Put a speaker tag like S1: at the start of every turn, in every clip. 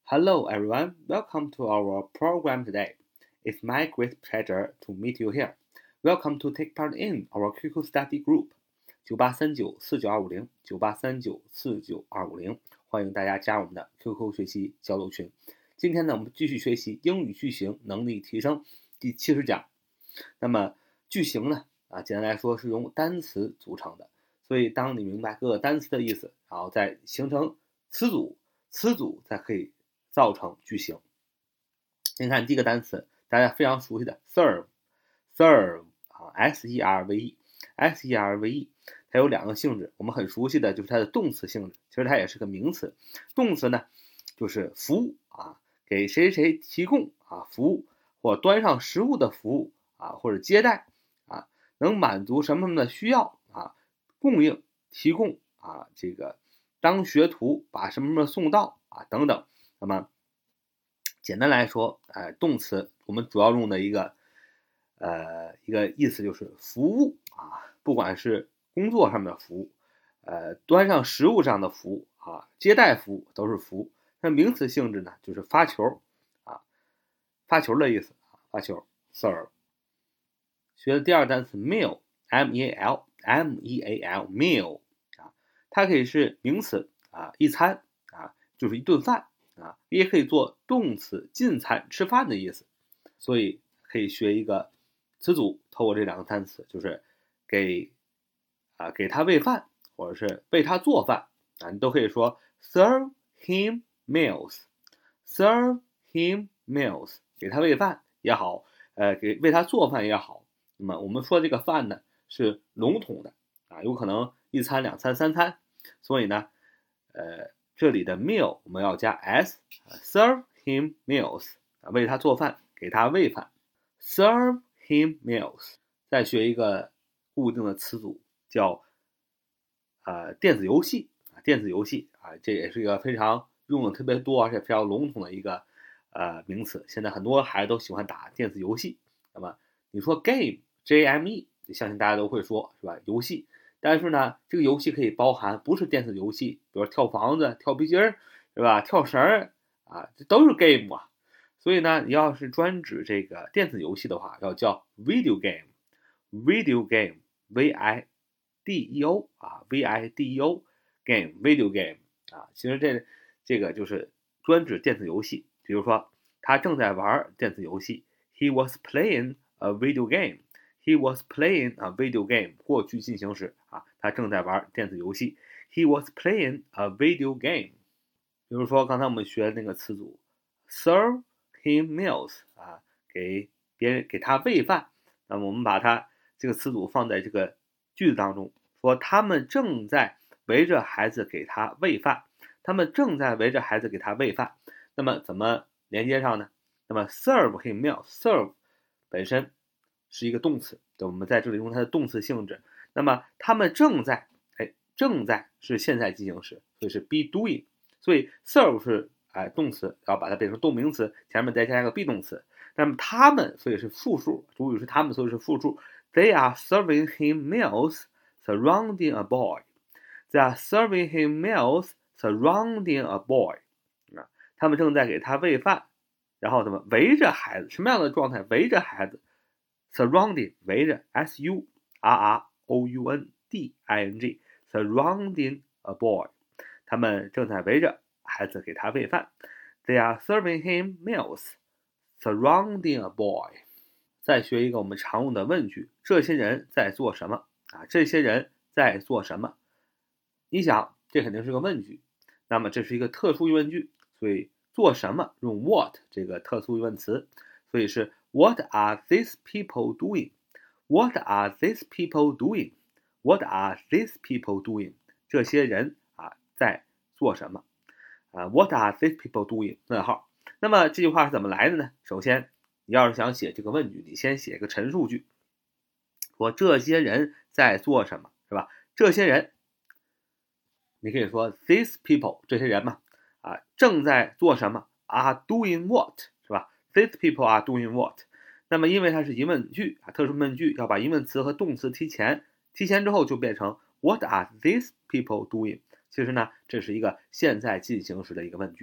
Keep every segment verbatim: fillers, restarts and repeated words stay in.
S1: Hello everyone, welcome to our program today. It's my great pleasure to meet you here. Welcome to take part in our Q Q study group 九八三九四九二五零 九八三九四九二五零，欢迎大家加入我们的 Q Q 学习交流群。今天呢，我们继续学习英语句型能力提升第七十讲。那么句型呢，啊，简单来说是由单词组成的，所以当你明白各个单词的意思，然后再形成词组，词组才可以造成句型。先看第一个单词，大家非常熟悉的 serve，serve 啊 ，s e r v e，s e r v e， 它有两个性质，我们很熟悉的就是它的动词性质，其实它也是个名词。动词呢，就是服务啊，给谁谁提供啊服务，或端上食物的服务啊，或者接待啊，能满足什么什么的需要啊，供应、提供啊，这个当学徒把什么什么送到啊等等。那么简单来说，呃，动词我们主要用的一个呃一个意思就是服务啊，不管是工作上的服务，呃，端上食物上的服务啊，接待服务都是服务。那名词性质呢，就是发球啊，发球的意思啊，发球 serve。学的第二个单词 meal，m e a l，m e a l meal 啊，它可以是名词啊，一餐啊，就是一顿饭。啊，也可以做动词进餐吃饭的意思，所以可以学一个词组，透过这两个单词，就是给啊给他喂饭，或者是为他做饭啊，你都可以说 serve him meals，serve him meals， 给他喂饭也好，呃，给为他做饭也好。那么我们说这个饭呢是笼统的啊，有可能一餐、两餐、三餐，所以呢，呃。这里的 meal 我们要加 s，serve him meals， 为他做饭，给他喂饭 ，serve him meals。再学一个固定的词组，叫呃电子游戏啊，电子游戏啊，这也是一个非常用的特别多而且非常笼统的一个呃名词。现在很多孩子都喜欢打电子游戏，那么你说 game，J M E， 相信大家都会说，是吧？游戏。但是呢，这个游戏可以包含不是电子游戏，比如跳房子、跳皮筋儿，是吧？跳绳儿啊，这都是 game 啊。所以呢，你要是专指这个电子游戏的话，要叫 video game，video game，v i d e o 啊 ，v i d e o game，video game 啊。其实这这个就是专指电子游戏。比如说，他正在玩电子游戏 ，he was playing a video game。He was playing a video game， 过去进行时啊，他正在玩电子游戏。He was playing a video game。比如说刚才我们学的那个词组 ，serve him meals 啊，给别人给他喂饭。那么我们把它这个词组放在这个句子当中，说他们正在围着孩子给他喂饭。他们正在围着孩子给他喂饭。那么怎么连接上呢？那么 serve him meals，serve 本身是一个动词，我们在这里用它的动词性质。那么他们正在，哎，正在是现在进行时，所以是 be doing。所以 serve 是哎动词，然后把它变成动名词，前面再加一个 be 动词。那么他们，所以是复数，主语是他们，所以是复数。They are serving him meals surrounding a boy. They are serving him meals surrounding a boy. 啊，他们正在给他喂饭，然后怎么围着孩子？什么样的状态？围着孩子。surrounding 围着 s u r r o u n d i n g surrounding a boy， 他们正在围着孩子给他喂饭。They are serving him meals surrounding a boy。 再学一个我们常用的问句，这些人在做什么啊？这些人在做什么？你想，这肯定是个问句，那么这是一个特殊疑问句，所以做什么用 what 这个特殊疑问词，所以是What are these people doing? What are these people doing? What are these people doing? 这些人啊在做什么？啊 ，What are these people doing? 问号。那么这句话是怎么来的呢？首先，你要是想写这个问句，你先写个陈述句，说这些人在做什么，是吧？这些人，你可以说 these people 这些人嘛，啊正在做什么 ？Are doing what？ 是吧？These people are doing what？ 那么因为它是疑问句啊，特殊问句要把疑问词和动词提前，提前之后就变成 What are these people doing？ 其实呢，这是一个现在进行时的一个问句。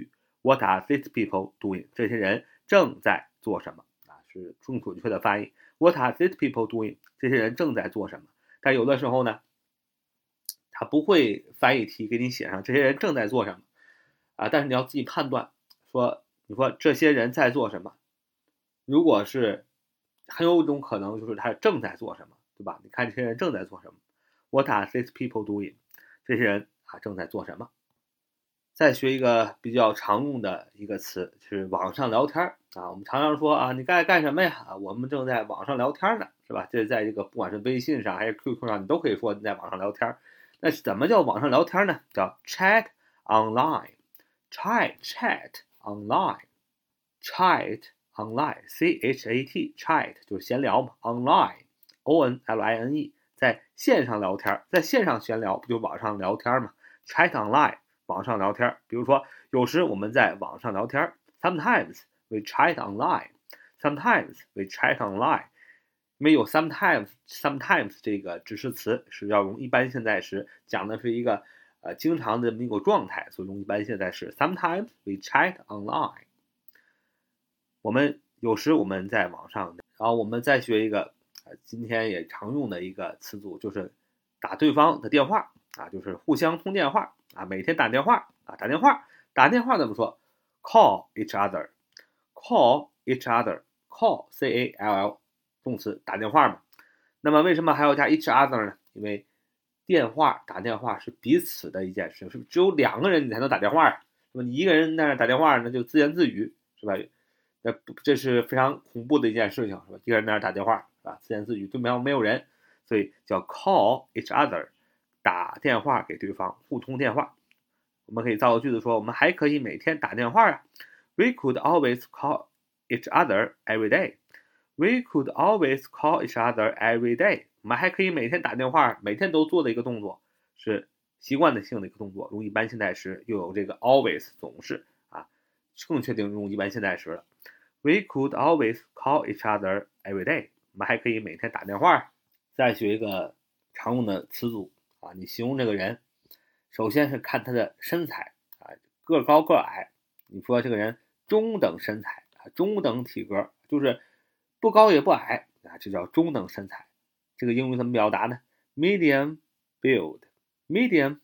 S1: What are these people doing？ 这些人正在做什么啊？是更准确的翻译。What are these people doing？ 这些人正在做什么？但有的时候呢，他不会翻译题给你写上这些人正在做什么啊，但是你要自己判断，说你说这些人在做什么？如果是很有一种可能就是他正在做什么，对吧？你看这些人正在做什么 ？What are these people doing？ 这些人啊正在做什么？再学一个比较常用的一个词，就是网上聊天啊。我们常常说啊，你该干什么呀？啊，我们正在网上聊天呢，是吧？这在这个不管是微信上还是 Q Q 上，你都可以说你在网上聊天。那怎么叫网上聊天呢？叫 chat online，chat chat online，chat online，c h a t chat 就是闲聊嘛 ，online，o n l i n e， 在线上聊天，在线上闲聊不就网上聊天嘛 ？chat online。网上聊天，比如说有时我们在网上聊天 ，sometimes we chat online，sometimes we chat online， 因为有 sometimes sometimes 这个指示词是要用一般现在时，讲的是一个呃经常的一个状态，所以用一般现在时 sometimes we chat online。我们有时我们在网上，然后我们再学一个呃今天也常用的一个词组，就是打对方的电话啊，就是互相通电话。啊，每天打电话啊，打电话，打电话怎么说 ？Call each other，call each other，call c a l l 动词打电话嘛。那么为什么还要加 each other 呢？因为电话打电话是彼此的一件事，是只有两个人你才能打电话，那么你一个人在那打电话，那就自言自语，是吧？那这是非常恐怖的一件事情，是吧？一个人在那打电话，是吧？自言自语，对面没有人，所以叫 call each other。打电话给对方，互通电话。我们可以造个句子说，我们还可以每天打电话啊。We could always call each other every day. We could always call each other every day. 我们还可以每天打电话，每天都做的一个动作，是习惯的性的一个动作。用一般现在时又有这个 always 总是啊，更确定用一般现在时了。We could always call each other every day. 我们还可以每天打电话。再学一个常用的词组。啊，你形容这个人，首先是看他的身材啊，个高个矮。你说这个人中等身材啊，中等体格，就是不高也不矮啊，这叫中等身材。这个英语怎么表达呢 ？Medium build，medium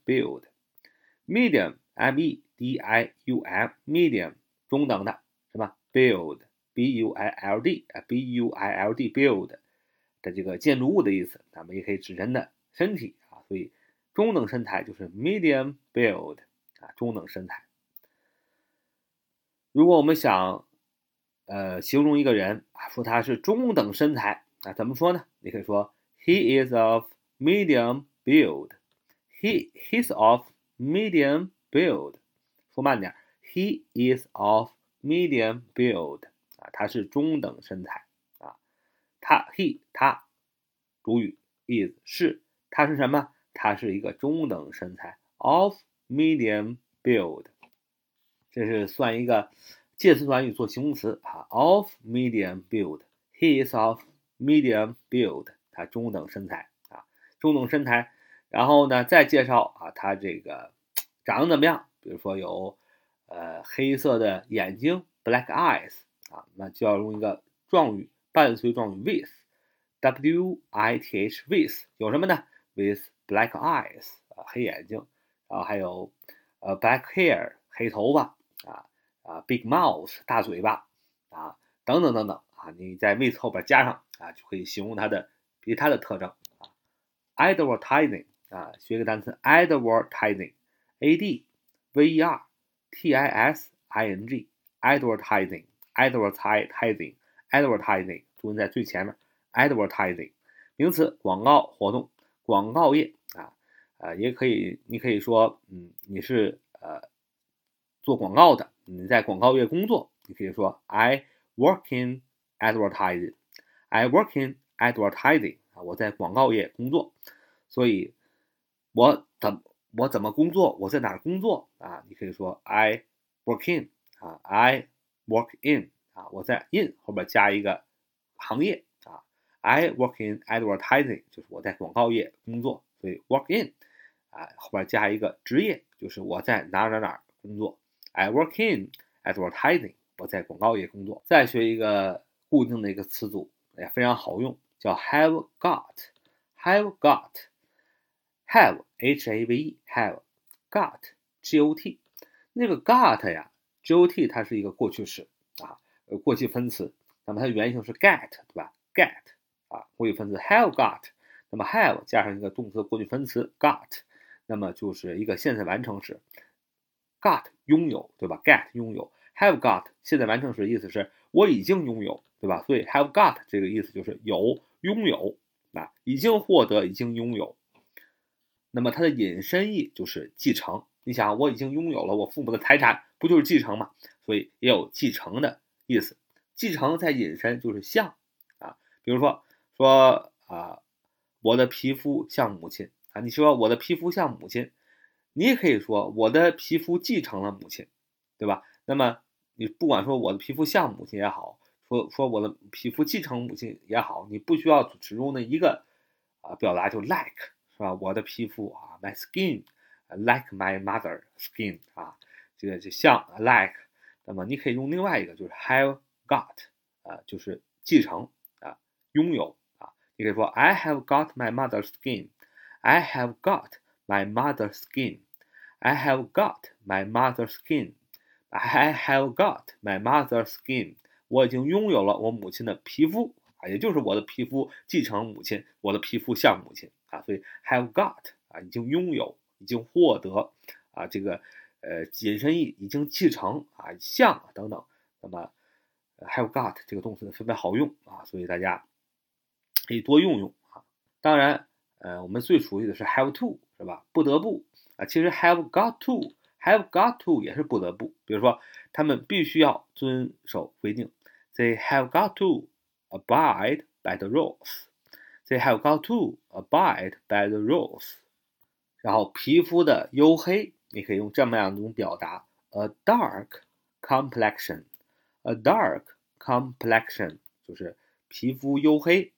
S1: build，medium m e d i u m medium 中等的是吧 ？build b u i l d b u i l d build 的这个建筑物的意思，咱们也可以指人的身体。所以中等身材就是 medium build 啊，中等身材。如果我们想呃形容一个人啊，说他是中等身材啊，怎么说呢？你可以说 he is of medium build。he he's of medium build。说慢点 ，he is of medium build 啊，他是中等身材啊。他 he 他主语 is 是他是什么？它是一个中等身材 of medium build， 这是算一个介词短语做形容词啊 of medium build。 He is of medium build， 他中等身材啊，中等身材。然后呢，再介绍啊，他这个长得怎么样？比如说有呃黑色的眼睛 black eyes 啊，那就要用一个状语伴随状语 with w i t h with 有什么呢 ？with black eyes 啊，黑眼睛，然后还有呃 black hair 黑头发啊啊 big mouth 大嘴巴啊等等等等啊，你在 with 后边加上啊，就可以形容它的其他的特征啊。advertising 啊，学一个单词 advertising a d v e r t i s i n g advertising advertising advertising 注音在最前面 advertising 名词广告活动广告业啊，呃，也可以，你可以说，嗯，你是呃做广告的，你在广告业工作，你可以说 I work in advertising， I work in advertising 啊，我在广告业工作。所以，我怎我怎么工作？我在哪儿工作啊？你可以说 I work in 啊 ，I work in 啊，我在 in 后边加一个行业啊。I work in advertising 就是我在广告业工作，所以 work in 啊后边加一个职业，就是我在哪哪哪工作。I work in advertising， 我在广告业工作。再学一个固定的一个词组，也非常好用，叫 have got。have got，have h a v e have got g o t。那个 got 呀 ，g o t 它是一个过去式啊，过去分词，那么它原型是 get， 对吧 ？get 啊，过去分词 have got， 那么 have 加上一个动词过去分词 got， 那么就是一个现在完成时 got 拥有，对吧 ？get 拥有 have got 现在完成时意思是我已经拥有，对吧？所以 have got 这个意思就是有拥有啊，已经获得，已经拥有。那么它的引申义就是继承。你想，我已经拥有了我父母的财产，不就是继承吗？所以也有继承的意思。继承在引申就是像啊，比如说说啊，我的皮肤像母亲啊，你说我的皮肤像母亲，你也可以说我的皮肤继承了母亲，对吧？那么你不管说我的皮肤像母亲也好，说说我的皮肤继承母亲也好，你不需要只用那一个啊表达，就 like。是吧？我的皮肤啊 ，my skin like my mother skin 啊，这个就像 like。那么你可以用另外一个，就是 have got 啊，就是继承啊，拥有啊。你可以说 I have got my mother's skin，I have got my mother's skin，I have got my mother's skin，I have got my mother's skin。我已经拥有了我母亲的皮肤啊，也就是我的皮肤继承母亲，我的皮肤像母亲。啊，所以 have got 啊，已经拥有，已经获得啊，这个呃引申义已经继承啊，像啊等等。那么 have got 这个动词特别好用啊，所以大家可以多用用啊。当然，呃，我们最熟悉的是 have to， 是吧？不得不啊，其实 have got to，have got to 也是不得不。比如说，他们必须要遵守规定 ，they have got to abide by the rules。They have got to abide by the rules。然后皮肤的黝黑，你可以用这么样一种表达 ：a dark complexion。a dark complexion 就是皮肤黝黑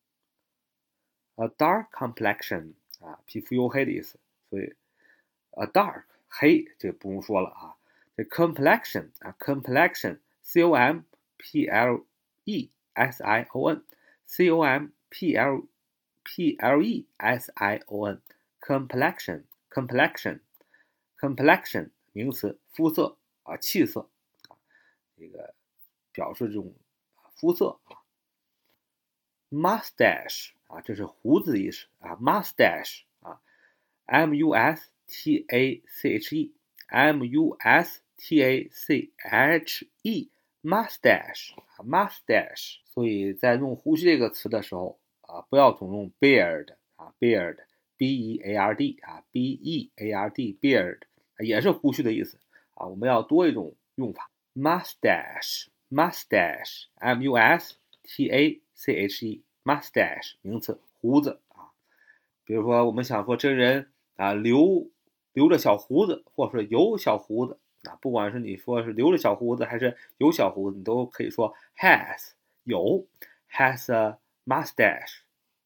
S1: ，a dark complexion 啊，皮肤黝黑的意思。所以 a dark 黑这个不用说了啊。这 complexion 啊 complexion，c o m p l e s i o n，c o m P L P L E S I O N complexion complexion complexion 名词，肤色啊，气色啊，这个表示这种肤色啊。mustache 啊，这是胡子的意思啊 ，mustache 啊 ，M U S T A C H E M U S T A C H E mustache mustache。所以在用胡须这个词的时候啊，不要总用 beard 啊 beard B E A R D 啊 B E A R D beard 也是胡须的意思啊，我们要多一种用法 mustache mustache M U S T A C H E mustache 名词，胡子啊。比如说我们想说这人啊留留着小胡子，或者是有小胡子啊，不管是你说是留着小胡子还是有小胡子，你都可以说 has 有 has a mustache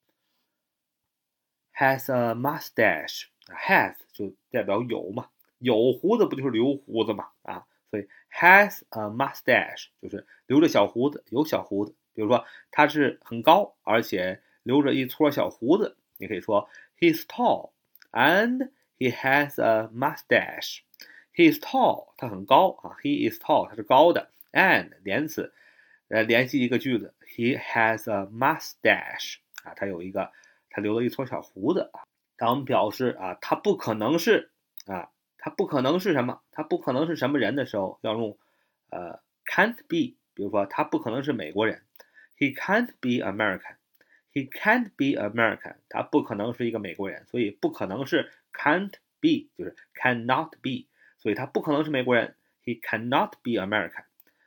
S1: has a mustache has 就代表有嘛，有胡子不就是留胡子嘛啊，所以 has a mustache 就是留着小胡子，有小胡子。比如说他是很高，而且留着一撮小胡子，你可以说 he's tall and he has a mustache。 he is tall 他很高啊 he is tall 他是高的 and 连词呃联系一个句子 he has a mustache 啊，他有一个他留了一撮小胡子啊。当我们表示啊他不可能是啊他不可能是什么他不可能是什么人的时候，要用呃 can't be。比如说他不可能是美国人 he can't be American he can't be American 他不可能是一个美国人，所以不可能是 can't be 就是 cannot be， 所以他不可能是美国人 he cannot be American。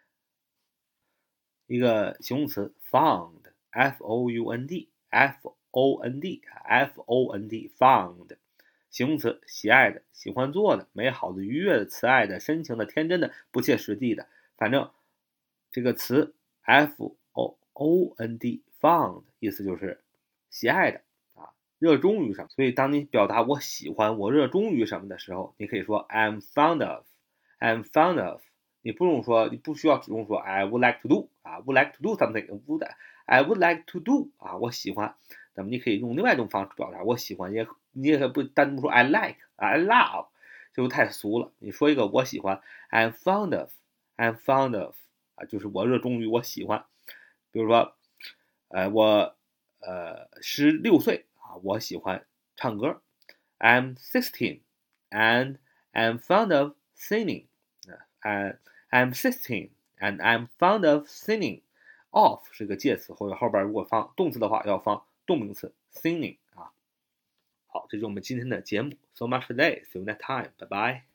S1: 一个形容词 found F O U N D F O N D F O N D found 形容词，喜爱的，喜欢做的，美好的，愉悦的，慈爱的，深情的，天真的，不切实际的，反正这个词 F O O N D found 意思就是喜爱的啊，热衷于什么。所以当你表达我喜欢我热衷于什么的时候，你可以说 I'm fond of I'm fond of 你不用说，你不需要只用说 I would like to do 啊 ，would like to do something，would I would like to do 啊，我喜欢。那么你可以用另外一种方式表达我喜欢，也你也可以不单独说 I like 啊 I love， 就太俗了。你说一个我喜欢 I'm fond of，I'm fond of 啊，就是我热衷于我喜欢。比如说，呃，我呃十六岁啊，我喜欢唱歌。I'm sixteen and I'm fond of singing. And I'm sixteen and I'm fond of singing. Of 是个介词，或者后边如果放动词的话，要放动名词 singing 啊。好，这就是我们今天的节目。So much for today. See you next time. Bye bye.